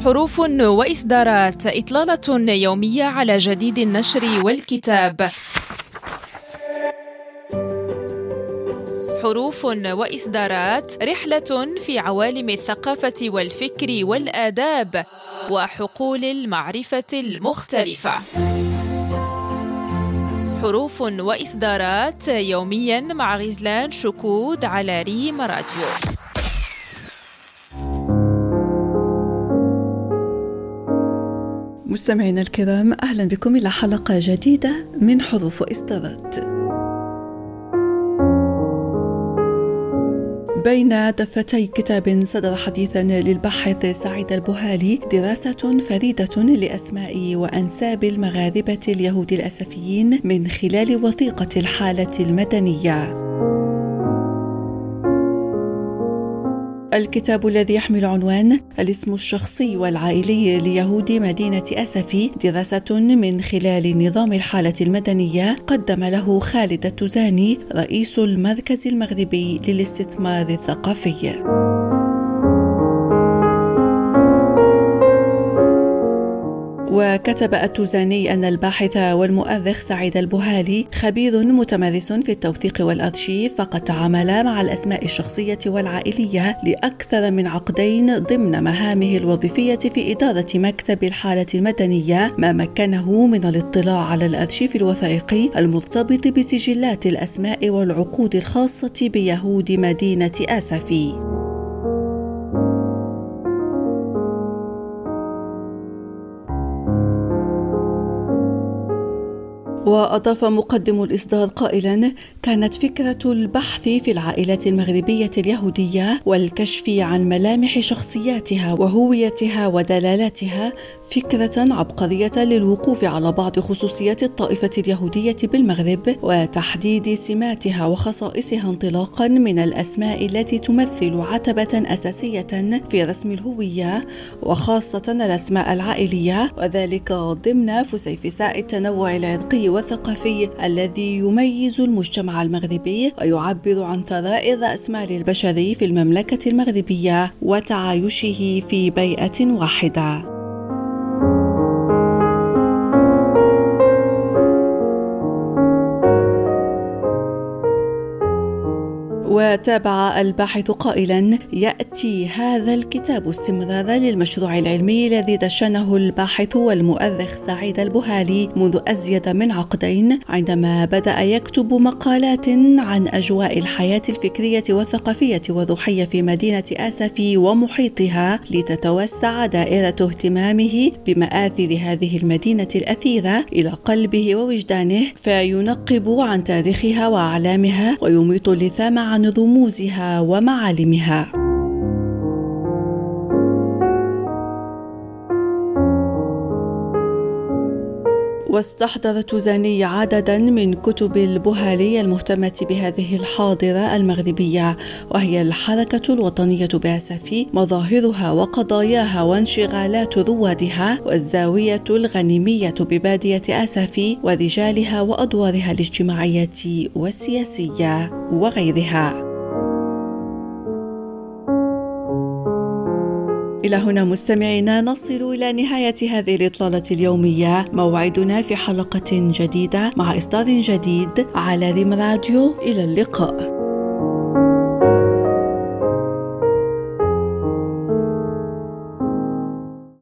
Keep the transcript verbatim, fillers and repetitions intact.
حروف وإصدارات، إطلالة يومية على جديد النشر والكتاب. حروف وإصدارات، رحلة في عوالم الثقافة والفكر والآداب وحقول المعرفة المختلفة. حروف وإصدارات يومياً مع غزلان شكود على ريم راديو. مستمعينا الكرام، أهلا بكم إلى حلقة جديدة من حروف وإصدارات. بين دفتي كتاب صدر حديثا للباحث سعيد البهالي دراسة فريدة لأسماء وأنساب المغاربة اليهود الأسفيين من خلال وثيقة الحالة المدنية. الكتاب الذي يحمل عنوان الاسم الشخصي والعائلي ليهود مدينة أسفي، دراسة من خلال نظام الحالة المدنية، قدم له خالد التوزاني رئيس المركز المغربي للاستثمار الثقافي. وكتب التوزاني أن الباحث والمؤرخ سعيد البهالي خبير متمرس في التوثيق والأرشيف، فقد تعامل مع الأسماء الشخصية والعائلية لأكثر من عقدين ضمن مهامه الوظيفية في إدارة مكتب الحالة المدنية، ما مكنه من الاطلاع على الأرشيف الوثائقي المرتبط بسجلات الأسماء والعقود الخاصة بيهود مدينة أسفي. وأضاف مقدم الإصدار قائلا: كانت فكرة البحث في العائلات المغربية اليهودية والكشف عن ملامح شخصياتها وهويتها ودلالاتها فكرة عبقرية للوقوف على بعض خصوصيات الطائفة اليهودية بالمغرب وتحديد سماتها وخصائصها انطلاقا من الأسماء التي تمثل عتبة أساسية في رسم الهوية، وخاصة الأسماء العائلية، وذلك ضمن فسيفساء التنوع العرقي والثقافي الذي يميز المجتمع المغربي ويعبر عن ثراء الرأسمال البشري في المملكة المغربية وتعايشه في بيئة واحدة. وتابع الباحث قائلا: يأتي هذا الكتاب استمرارا للمشروع العلمي الذي دشنه الباحث والمؤرخ سعيد البهالي منذ أزيد من عقدين، عندما بدأ يكتب مقالات عن أجواء الحياة الفكرية والثقافية والروحية في مدينة أسفي ومحيطها، لتتوسع دائرة اهتمامه بمآثر هذه المدينة الأثيرة إلى قلبه ووجدانه، فينقب عن تاريخها وأعلامها ويميط اللثام عن رموزها ومعالمها. واستحضر التوزاني عددا من كتب البهالي المهتمة بهذه الحاضرة المغربية، وهي الحركة الوطنية بأسفي، مظاهرها وقضاياها وانشغالات روادها، والزاوية الغنيمية ببادية أسفي ورجالها وأدوارها الاجتماعية والسياسية وغيرها. إلى هنا مستمعينا نصل إلى نهاية هذه الإطلالة اليومية، موعدنا في حلقة جديدة مع إصدار جديد على ريم راديو. إلى اللقاء.